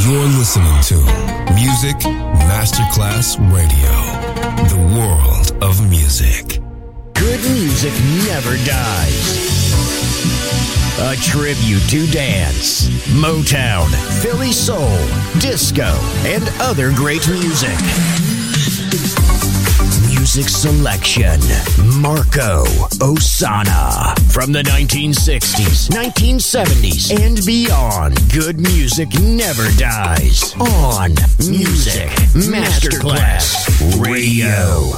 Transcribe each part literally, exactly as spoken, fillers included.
You're listening to Music Masterclass Radio, the world of music. Good music never dies. A tribute to dance, Motown, Philly soul, disco, and other great music. Music selection, Marco Ossanna. From the nineteen sixties, nineteen seventies, and beyond, good music never dies. On Music Masterclass Radio.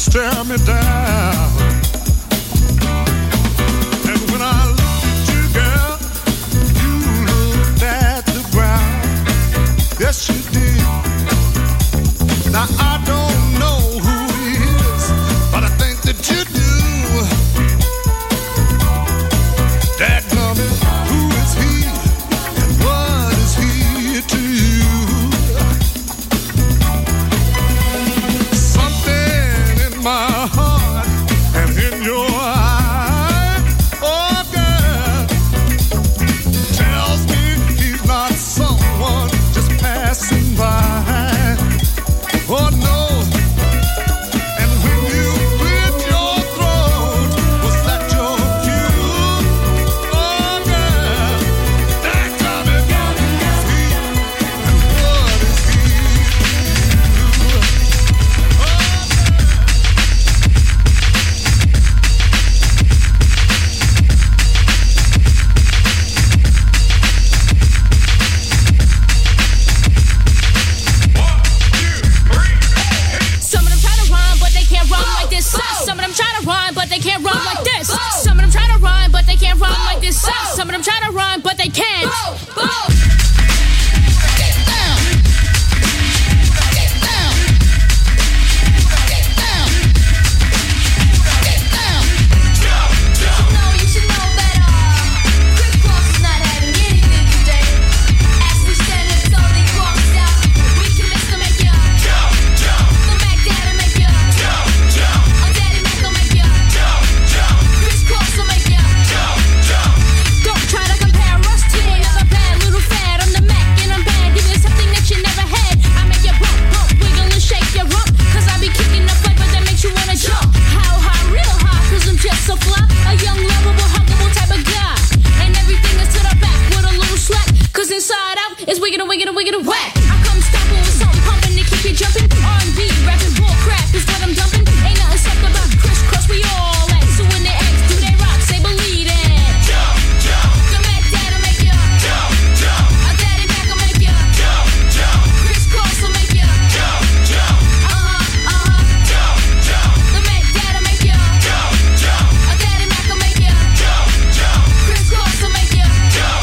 stare me down. And when I looked at you, girl, you looked at the ground. Yes, you did. Now I don't know who he is, but I think that you do. Dadgummit, who is he, and what is he to you? Something in my heart and in your eye, oh girl, tells me he's not someone just passing by. Oh no. And when you cleared your throat, was that your cue? Oh girl, dadgummit, who is he, and what is he to you? Some of them try to rhyme, but they can't rhyme like this. Some of them try to rhyme, but they can't rhyme like this. Some of them try to rhyme, but they can't rhyme like this. Some of them try to rhyme, but they can't. Get down. Get down. Get down. Get down. You know, you should know better. Chris Cross is not having anything today. As we stand and slowly cross out, we can miss to make ya. The Mac Daddy make ya. Oh, Daddy Mac will make ya. Chris Cross will make ya. Don't try to compare us to another bad little fad. I'm the Mac and I'm bad. Give you something that you never had. I make you bump, bump, wiggle and shake your rump. Cause I be kicking the flavor that makes you wanna jump. How high, real high, cause I'm just so fly. A young, lovable, huggable type of guy. And everything is to the back with a little slack. Cause inside out is wiggin' and wiggin' and wiggin' and whack. I come stomping with something pumping to keep you jumping. R and B, rapping bull crap is what I'm dumping. Ain't nothing said about Chris Cross, we all at. So when they ask, do they rock? Say believe it. The Mac Daddy make ya. A Daddy Mac will make ya. Chris Cross will make ya. Uh-huh, uh-huh. The Mac Daddy make ya. A Daddy Mac will make ya. Chris Cross will make ya.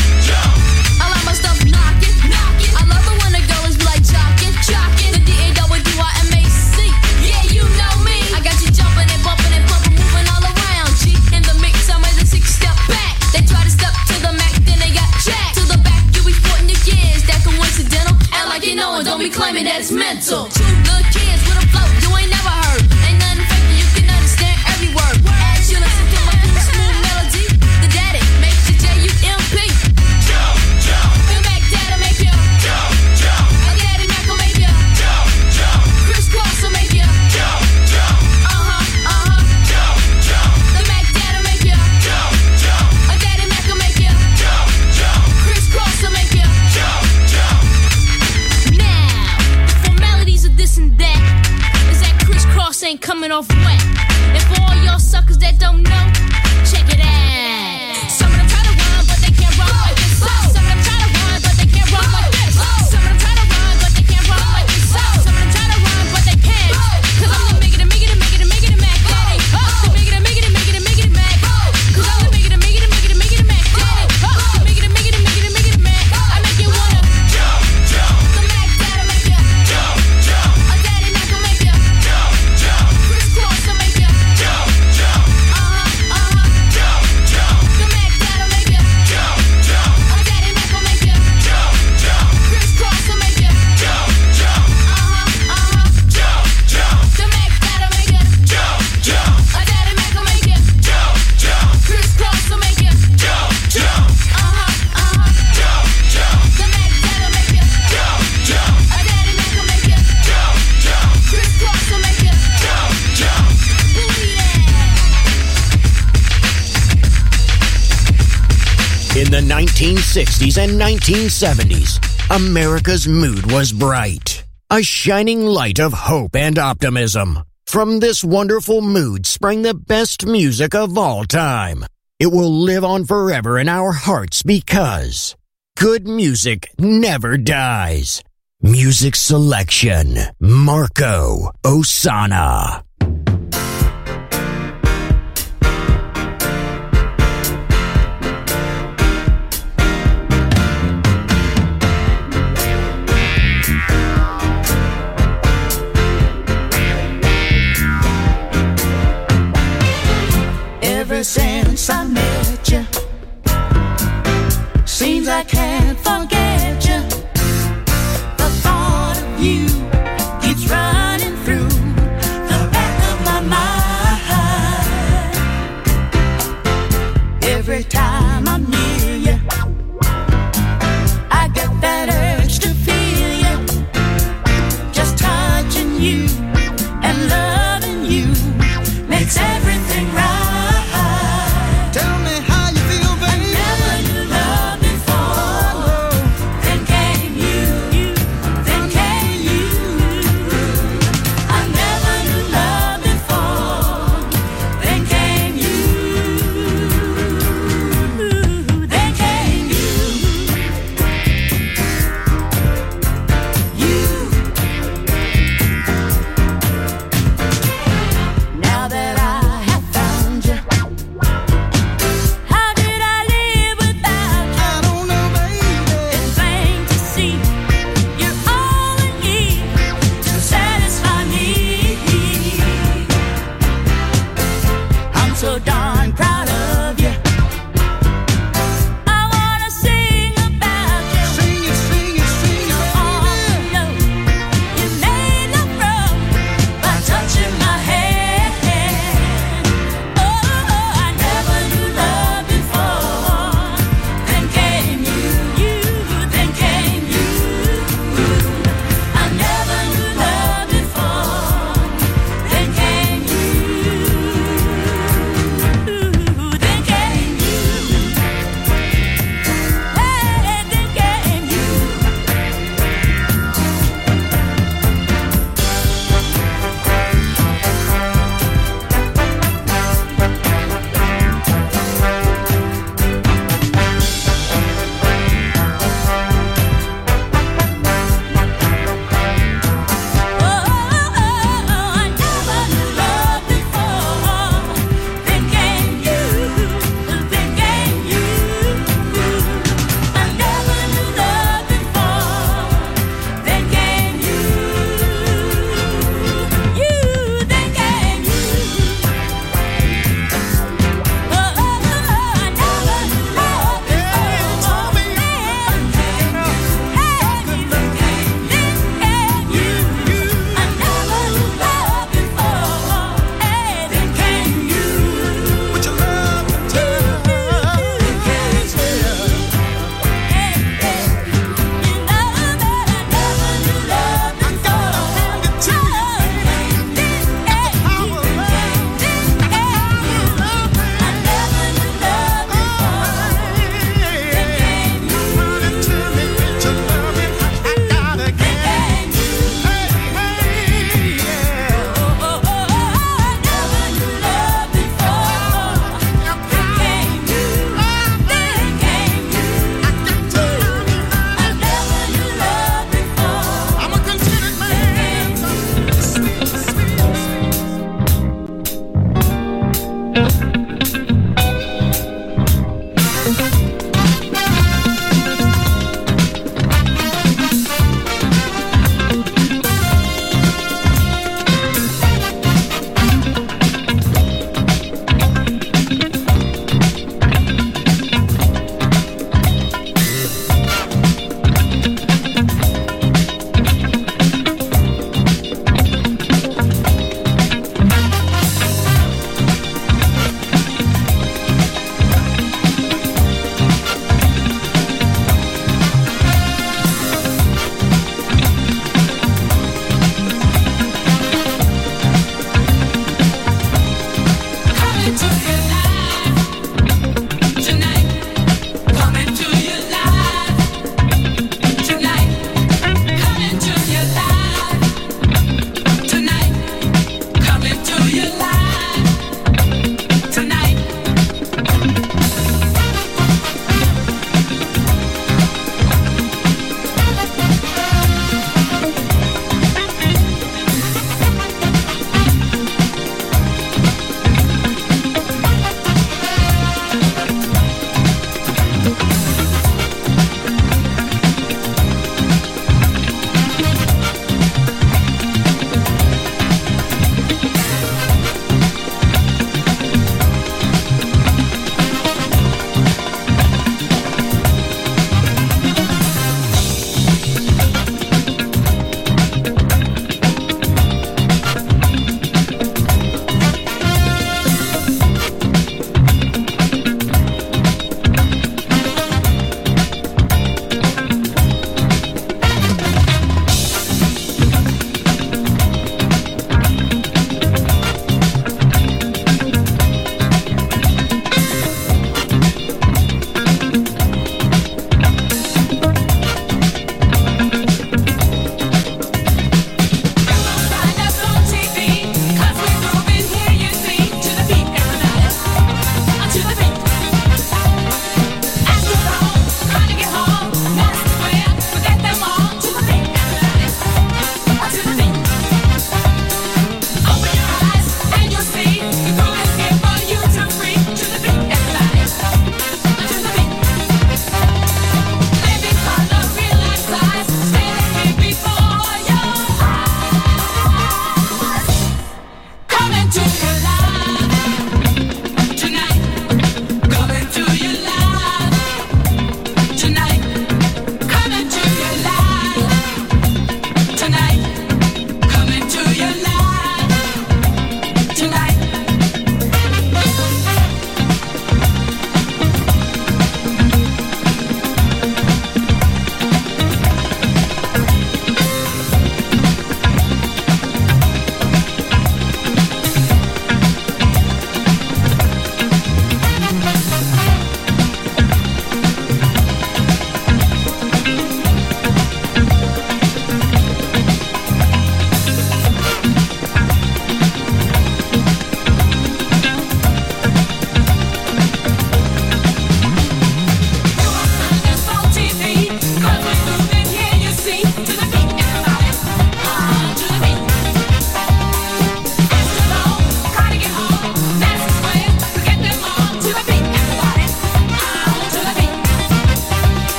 I like my stuff knocking, knocking. I love it when the girl is like jocking, jocking. The D A W I M A C. Yeah, you know me. I got you jumping and bumping and pumping, moving all around. G in the mix, I'm as a six step back. They try to step to the Mac, then they got jacked. To the back, you be sporting your kids. That coincidental. Act like you know and don't be claiming that it's mental. Two good kids with a flow you ain't never heard. Ain't nothing fake, you can understand every word. As you listen to my cool, smooth melody, the daddy makes you J U M P. The Mac Daddy make ya. A Daddy Mac will make ya. Chris Cross will make ya. Uh-huh, uh-huh. The Mac Daddy make ya. A Daddy Mac will make ya. Chris Cross will make ya. Now, the formalities of this and that is that Chris Cross ain't coming off wet. And for all y'all suckers that don't know, check it out. Some of them try to rhyme, but they can't rhyme like this. Some of them try to rhyme, but they can't rhyme like this. Some of them try to rhyme, but they can't rhyme like this. Some of them try to rhyme, but they can't. Cause I'm the miggity, miggity, miggity, miggity Mac Daddy. The miggity, miggity, miggity, miggity Mac. Cause I'm the miggity, miggity, miggity, miggity Mac Daddy. The miggity, miggity, miggity, miggity Mac. I make you wanna. The Mac Daddy make ya. A Daddy Mac will make ya. Chris Cross will make ya. Uh-huh, uh-huh. The Mac Daddy make ya. A Daddy Mac will make ya. Chris Cross will make ya. Uh-huh, uh-huh. The Mac Daddy make ya. A Daddy Mac will make ya. Chris Cross will make ya. Uh-huh, uh-huh. The Mac Daddy make ya. A Daddy Mac will make ya. Chris Cross will make ya. Believe it. In the nineteen sixties and nineteen seventies, America's mood was bright. A shining light of hope and optimism. From this wonderful mood sprang the best music of all time. It will live on forever in our hearts because good music never dies. Music selection, Marco Ossanna.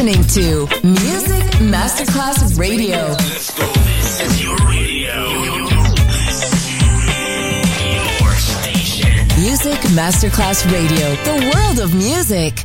listening to Music Masterclass Radio. Let's go. This is your radio. Your station. Music Masterclass Radio. The world of music.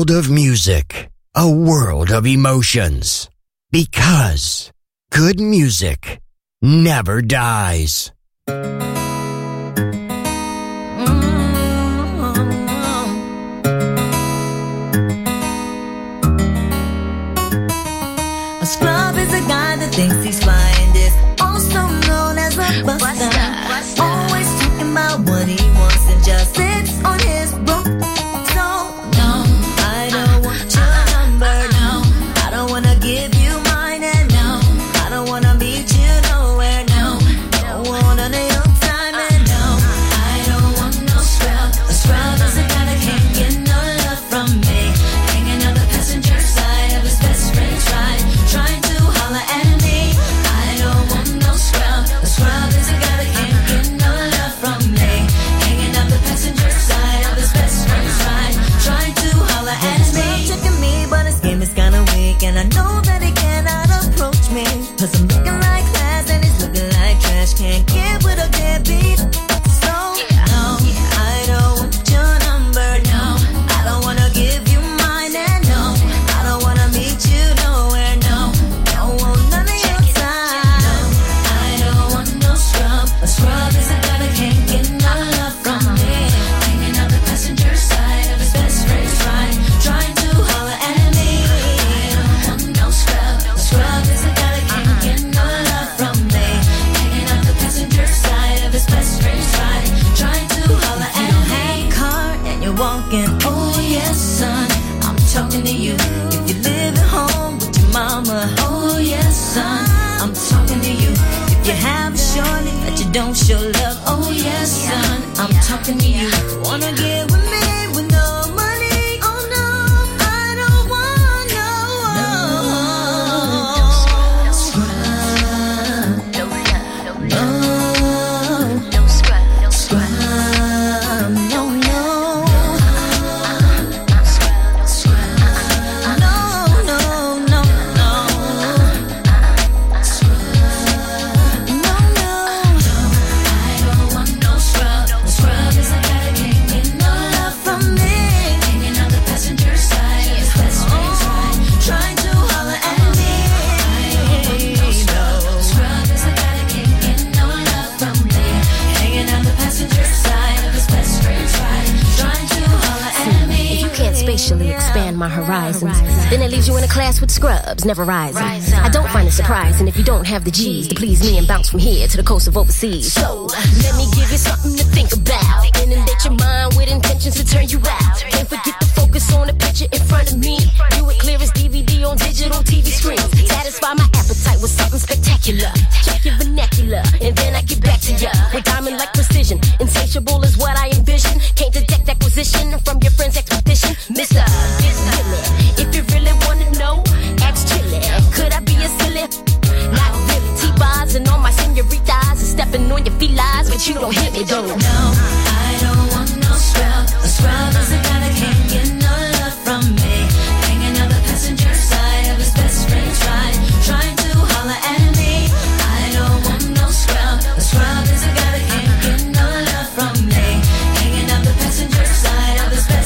world of music, a world of emotions. Because good music never dies. A scrub is a guy that thinks he's flying, is also known as a buster. Always talking about what he wants and just sits on his broke. So, no, I don't want your number, no. I don't wanna give you mine, and no, I don't wanna meet you nowhere, no. Don't want none of your time, and no, I don't want no scrub. A scrub is a guy that can't get no love from me. Hanging on the passenger side of his best friend's ride, trying to holler at me. I don't want no scrub. A scrub is a guy that can't get no love from me. Hanging out the passenger side of his best friend's ride, trying to holler at me. Checking me, but his game is kinda weak, and I know that he cannot approach me. Cause I'm looking like class and he's looking like trash. Can't get with a deadbeat. So, no, I don't want your number, no. I don't wanna give you mine, and no, I don't wanna meet you nowhere, no. Don't want none of your time. I don't want no scrub. A scrub is a guy that can't get no love from me. Hanging out the passenger side of his best friend's ride, trying to holler at me. I don't want no scrub. A scrub is a guy that can't get no love from me. Hanging out the passenger side of his best friend's ride, trying to holler at me. You don't have a car and you're walking. Oh yes, son, I'm talking to you. If you live at home with your mama. Oh yes, son, I'm talking to you. If you have a shorty that you don't show love. Oh yes, son, I'm talking to you. Wanna get with me with no money? Oh no, I don't want no. No scrub. No scrub. Scrub. No, no. Scrub. No, no, no, no. Scrub. No, no. I don't want no scrub. A scrub is a guy that can't get no love from me. Hanging out the passenger side of his best friend's ride, trying to holler at me. I don't want no scrub. A scrub is a guy that can't get no love from me. Hanging out the passenger side of his best friend's ride, trying to holler at me. If you can't spatially expand my horizons, then it leaves you in a class with scrubs, never rising. I don't find it surprising if you don't have the G's to please me and bounce from here to the coast of overseas. So, let me give you something to think about. Inundate your mind with intentions to turn you out. Can't forget to focus on the picture in front of me. Do it clear as D V D on digital T V screens. Satisfy my appetite with something spectacular. Check your vernacular, and then I get back to ya with diamond-like precision. Insatiable is what I envision. Can't detect acquisition from your friend's expedition. Mister, it's silly. If you really wanna know, ask Chili. Could I be a silly? Not really. T-bars and all my senoritas and stepping on your felines, but you don't hit me though. No, I don't want no scrub. A scrub is a guy that can't get no love from me. Hanging out the passenger side of his best friend's ride, trying to holler at me. I don't want no scrub. A scrub is a guy that can't get no love from me. Hanging out the passenger side of his best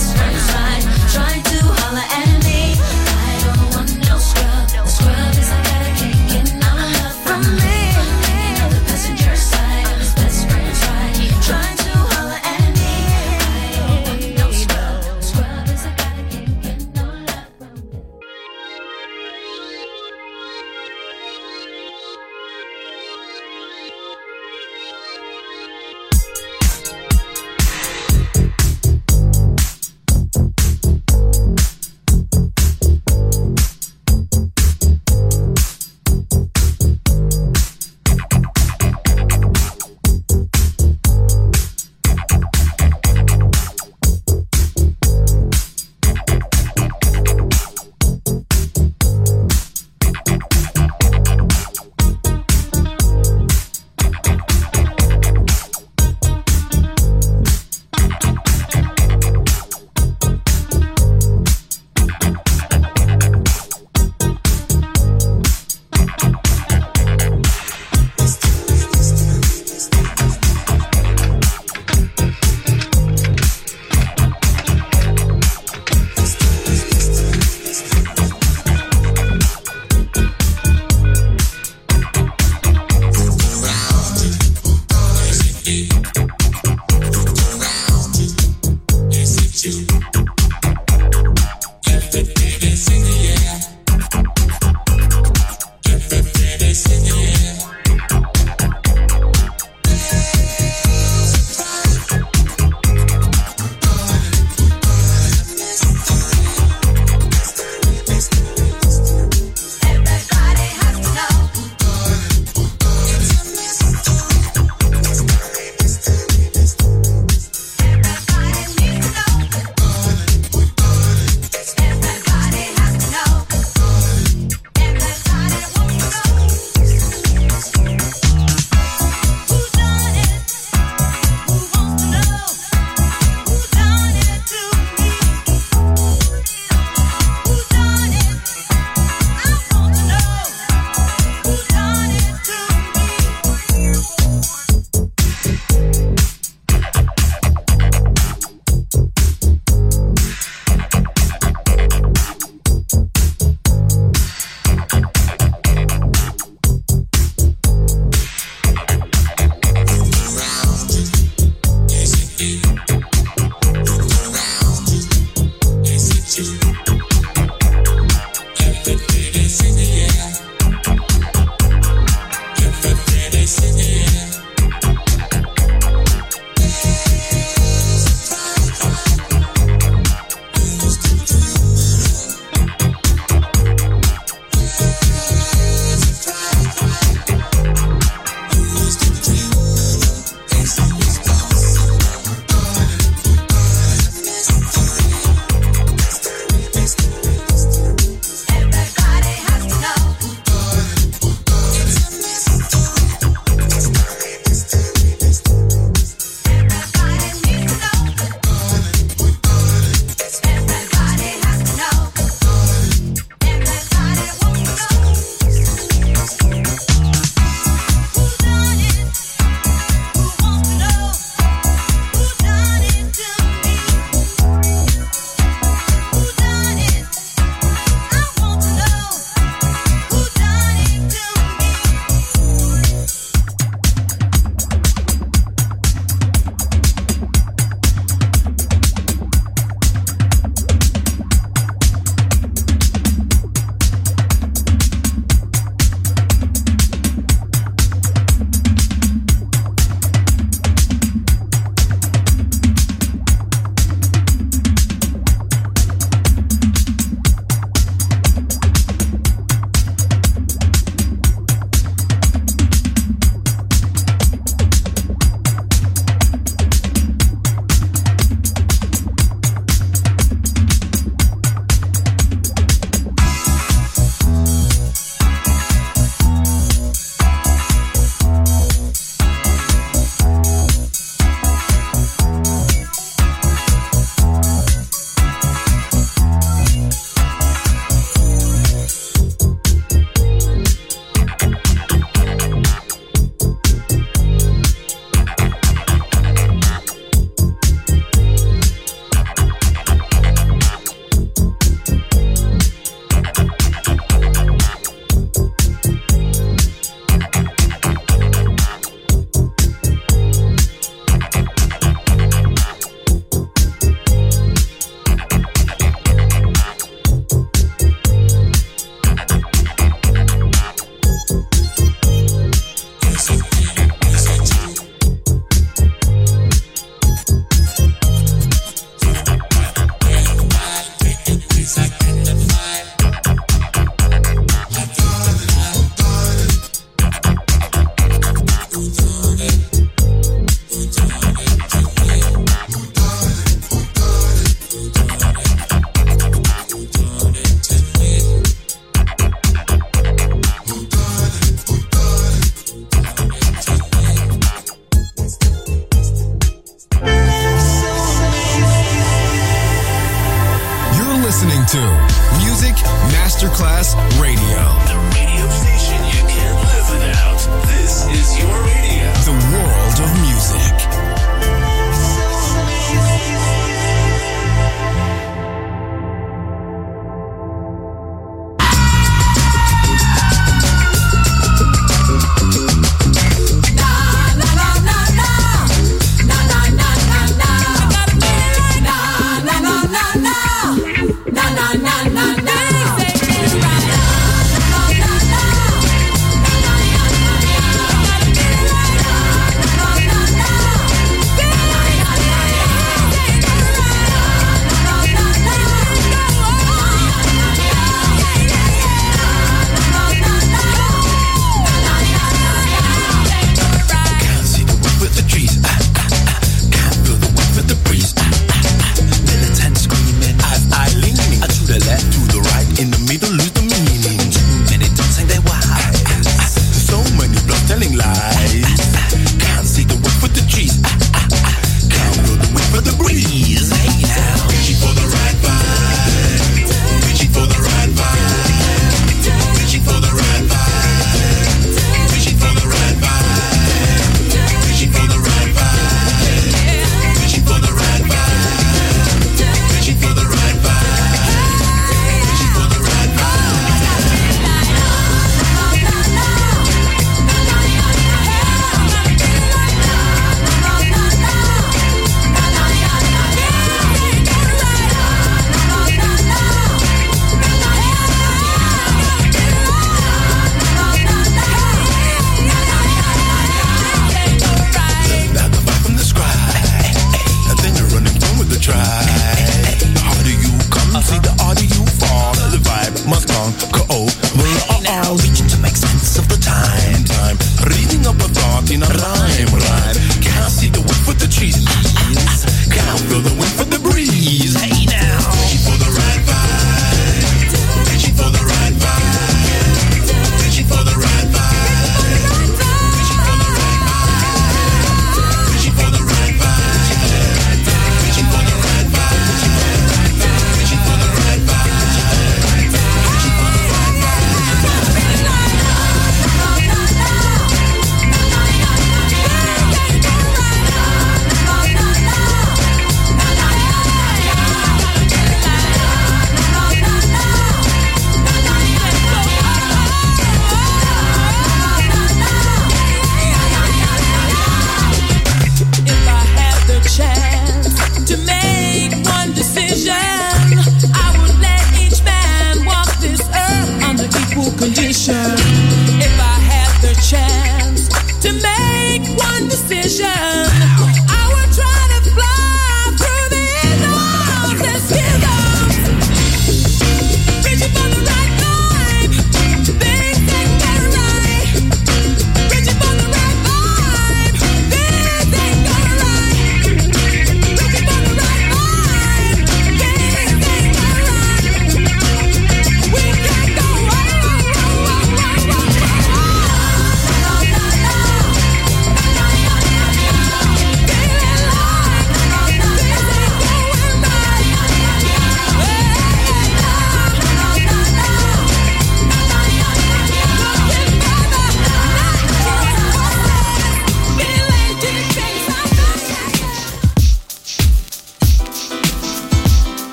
to Music Masterclass Radio. The radio station you can't live without. This is your radio. The world of music.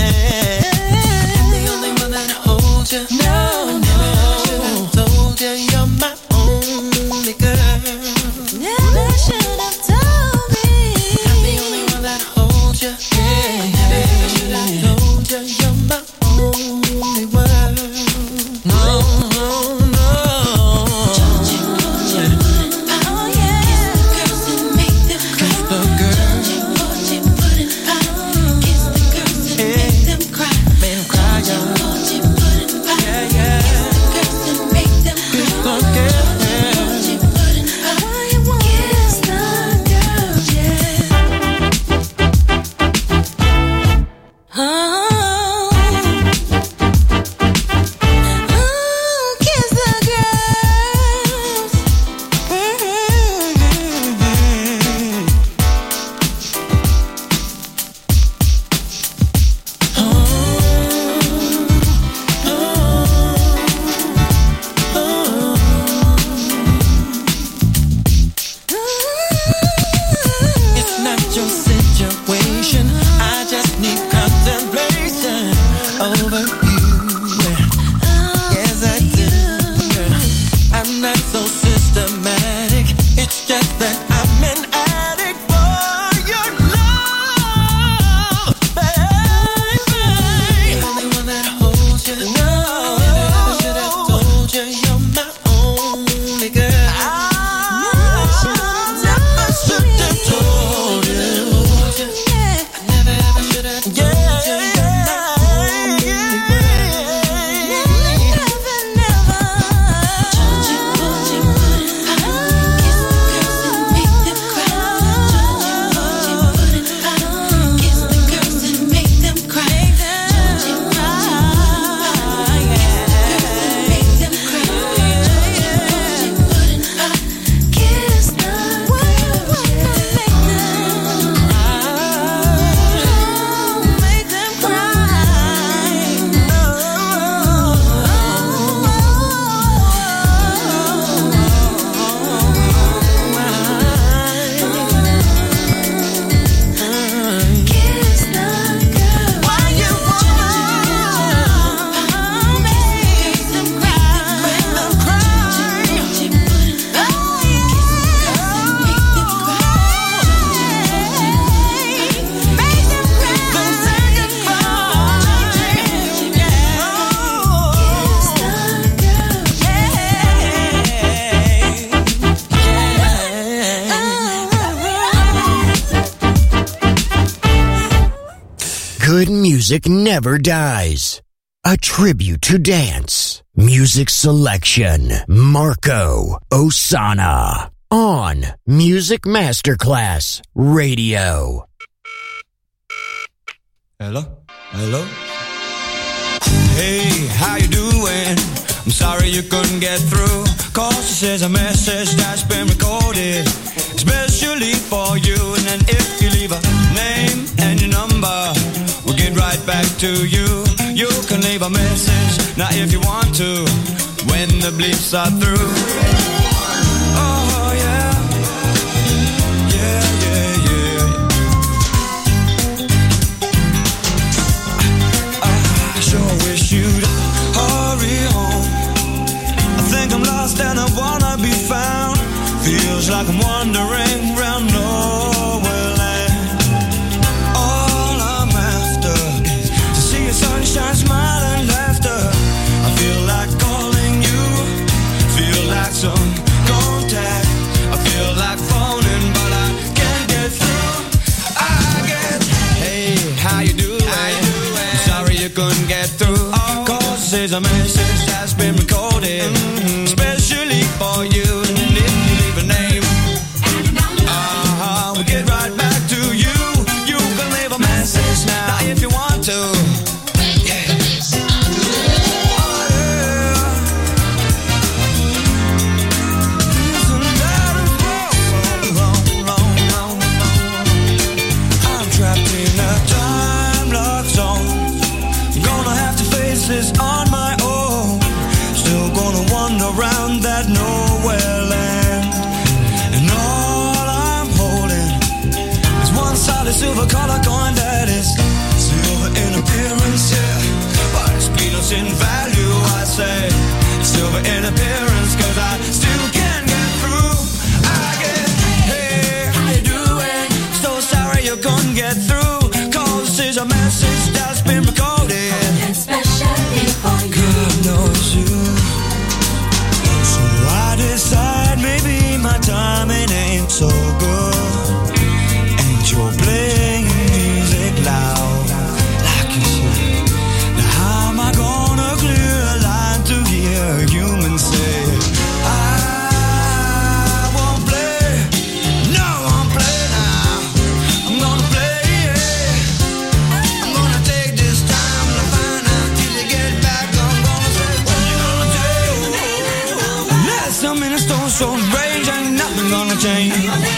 No, no, told you Good music never dies. A tribute to dance. Music selection. Marco Ossanna. On Music Masterclass Radio. Hello? Hello? Hey, how you doing? I'm sorry you couldn't get through. Cause this is a message that's been recorded especially for you. And then if you leave a name and your number, we'll get right back to you. You can leave a message, now if you want to, when the bleeps are through. Oh yeah, yeah, yeah, yeah. I sure wish you'd hurry home. I think I'm lost and I wanna be found. Feels like I'm wandering round nowhere land. All I'm after is to see your sunshine, smile and laughter. I feel like calling you, feel like some contact. I feel like phoning but I can't get through. I get, hey, how you doing? How you doing? Sorry you couldn't get through. Oh, cause this is a message that's been recorded, mm-hmm, especially for you. Name. Uh-huh, we'll get right back to you. You can leave a message now, now if you want to. Yeah. Oh, yeah. Listen, that is wrong, wrong, wrong, wrong, wrong. I'm trapped in a time lock zone. I'm gonna have to face this on my own. Still gonna wander around that nowhere land. A silver color coin that is silver in appearance, yeah, but it's peanuts in value, I say. Silver in appearance, cause I still can't get through. I get, hey, how you doing? So sorry you couldn't get through. Cause this is a message that's been recorded especially for you. God knows you. So I decide maybe my timing ain't so good. You're playing music loud, like you should. Now how am I gonna clear a line to hear a human say, I won't play, no I won't play now. I'm gonna play, yeah. I'm gonna take this time to find out till you get back. I'm gonna say, what you gonna do? Last some minutes don't show range, ain't nothing gonna change.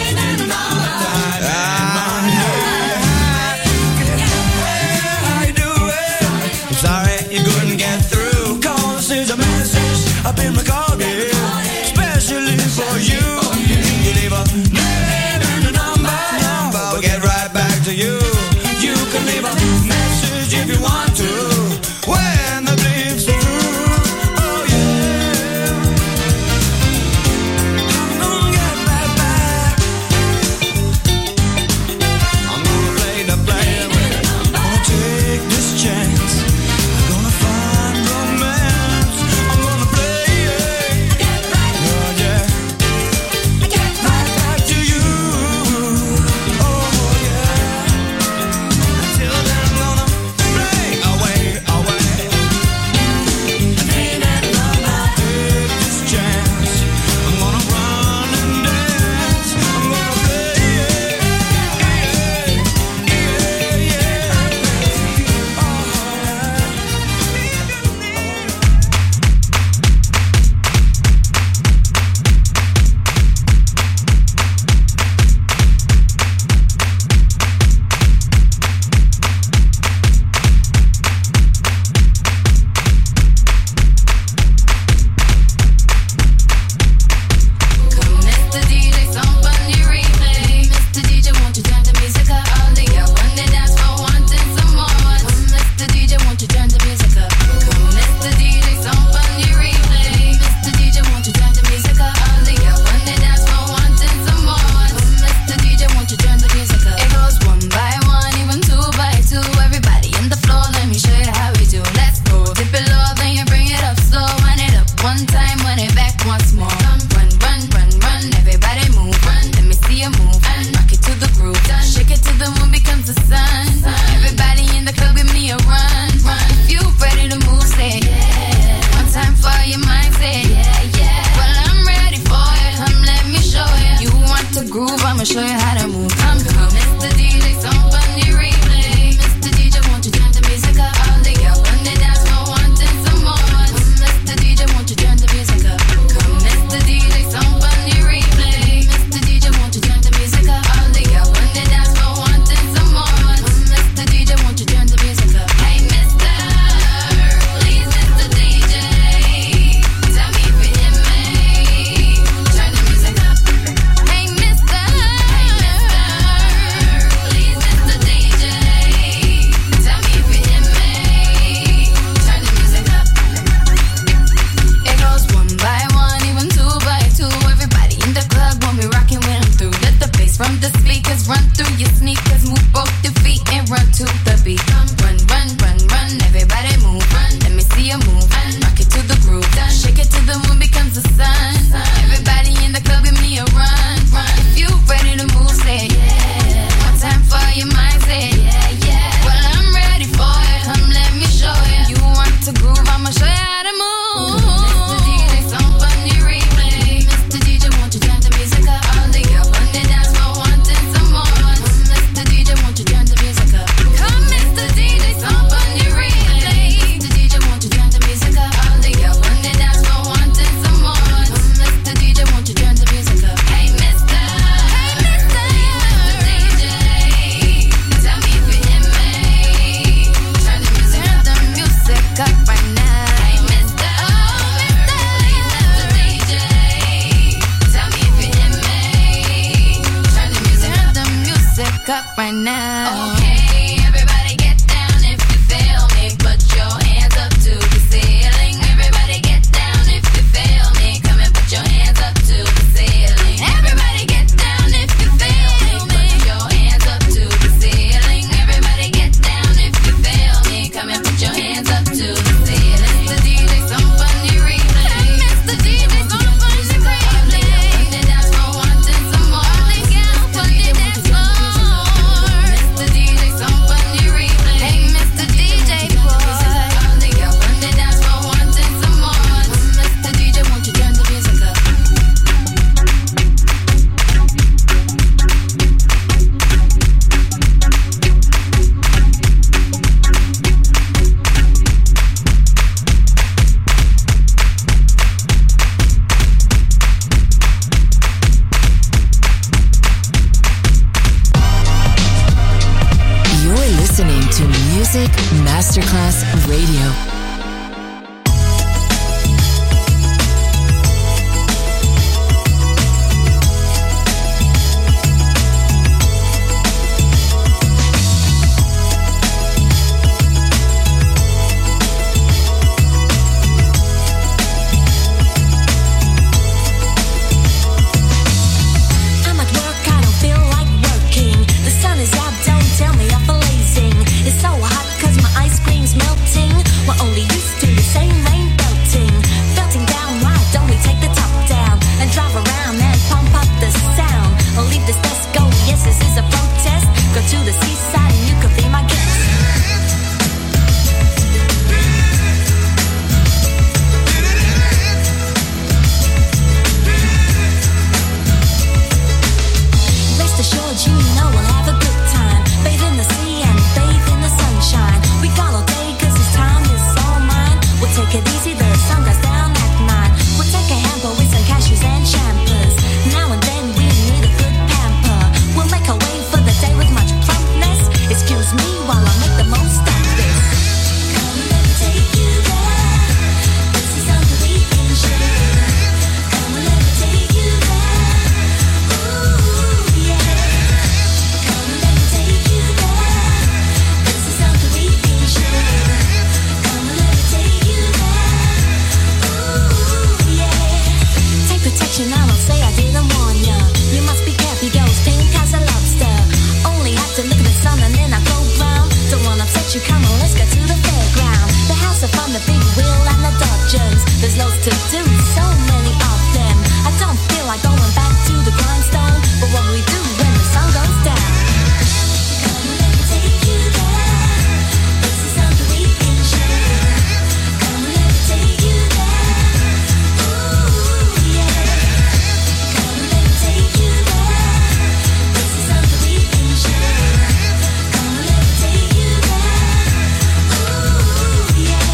I've been recorded especially for you. You leave a name and a number, number. We'll get right back to you. You can leave a message if you want to. Well, comes the sun. Everybody in the club, give me a run. If you ready to move, say yeah. One time for your mind, say yeah, yeah. Well, I'm ready for it. Come, let me show you. You want to groove? I'ma show you how to move. Mister D J, somebody replay. Mister D J, won't you turn the music up? All the girls on the dance floor wanting some more. Mister D J, won't you turn the music up? Come, Mister D J, somebody replay. Mister D J, won't you turn the music up? All the girls on the dance floor wanting some more. Mister D J, won't you turn the music up? Hey, Mister, hey, Mister, Mister D J, tell me if you hear me. Turn the music, turn the music up right now. Hey, Mister, oh, Mister, Mister D J, tell me if you hear me. Turn the music, turn the music up right now. Okay, everybody get down if you feel me. Put your hands up to the ceiling. Everybody get down if you feel me. Come and put your hands up to the ceiling. Everybody get down if you feel me. Put your hands up to the ceiling. Everybody get down if you feel me. Come and put your hands up to the ceiling. Mister D J, somebody replay. Mister D J, somebody replay. The dance floor wanting some more. All the girls on the dance floor. Mister D J, somebody replay. Hey, Mister D J boy. All the girls on the dance floor wanting some more. Mister D J, won't you turn the music up? You're listening to Music Masterclass Radio. I'm at work, I don't feel like working. The sun is out, don't tell me I'm blazing. It's so hot 'cause my ice cream's melting. We're only used to the same rain belting. Belting down, why don't we take the top down and drive around and pump up the sound? Or leave this desk go, yes, this is a protest. Go to the seaside and you could be my guest. Rest assured, you know we'll have a good time. Bathe in the sea and bathe in the sunshine. We got all day 'cause this time is all mine. We'll take it easy, the sun goes down at nine. We'll take a hamper with some cashews and champers. Now and then we need a good pamper. We'll make our way for the day with much plumpness. Excuse me while I make the most of this. Come and let me take you there. This is something we can share. Come and let me take you there. Ooh, yeah. Come and let me take you there. This is something we can share. Come and let me take you there. Ooh, yeah. Take protection, I won't say I didn't warn ya. You must be careful, he goes pink as a lobster. Only have to look at the sun and then I go brown. Don't wanna upset you, come on, let's go to the fairground. The house of fun, the big wheel and the Dodgers. There's loads to do, so many of them. I don't feel like going back to the grindstone, but what will we do when the sun goes down? Come and let me take you there. This is something we can share. Come and let me take you there. Ooh, yeah. Come and let me take you there. This is something we can share. Come and let me take you there. Ooh, yeah.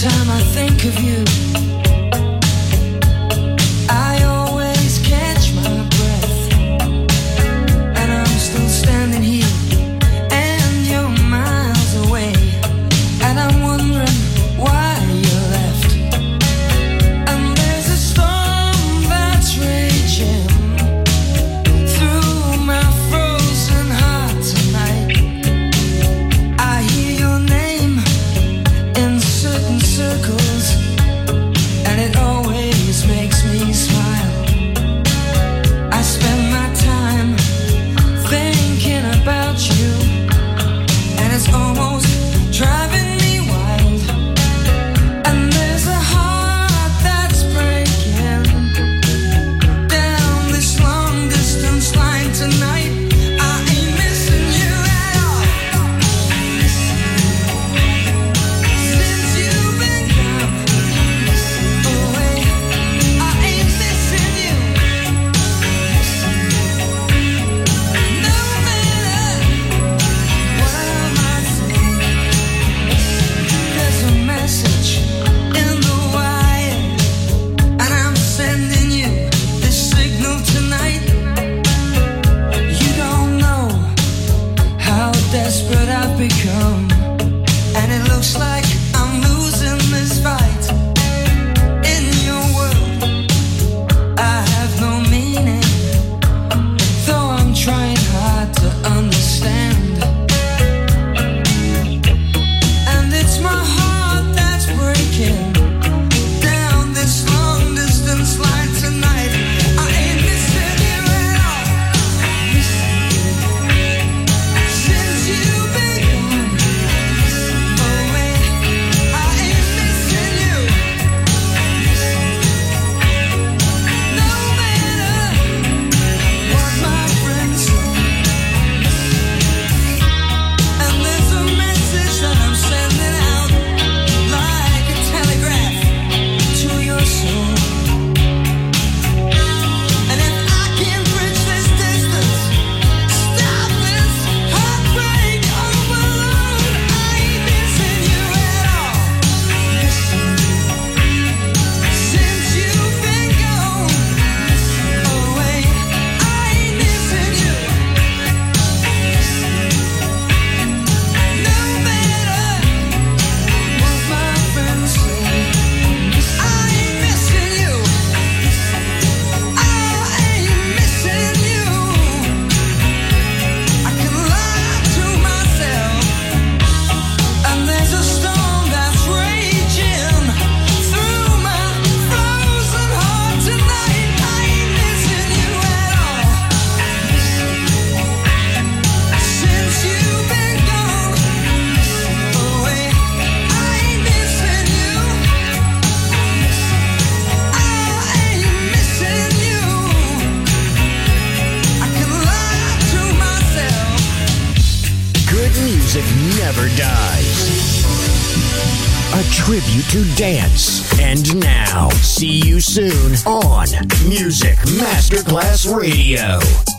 time I think of you, I always catch my breath, and I'm still standing here, and you're miles away, and I'm wondering why you left. And there's a storm that's raging through my frozen heart tonight. I hear your name in certain circles, and it always makes me smile. I spend my time thinking about you, and it's almost driving me wild. And there's a heart that's breaking down this long distance line tonight. I ain't missing you at all. Since you've been gone away, I ain't missing you. No matter what I might say, there's a message in the wire, and I'm sending you this signal tonight. You don't know how desperate I've become, and it looks like I'm losing this fight. In your world, I have no meaning, though I'm trying hard to understand. And it's my heart that's breaking down this long distance line tonight. I ain't missing you at all. Since you've been gone away, I ain't missing you. No matter what my friends say. And there's a message that I'm sending out like a telegraph to your soul. And if I can bridge this distance, stop this heartbreak overload, I ain't missing you at all. Since you've been gone away, I ain't missing you. No matter what my friends say, I ain't missing you. I ain't missing you. I can lie to myself, and there's a storm that's raging through my frozen heart tonight. I ain't missing you at all. Since you've been gone away, I ain't missing you. I ain't missing you. I can lie to myself. Good music never dies. A tribute to dance. And now, see you soon on Music Masterclass Radio.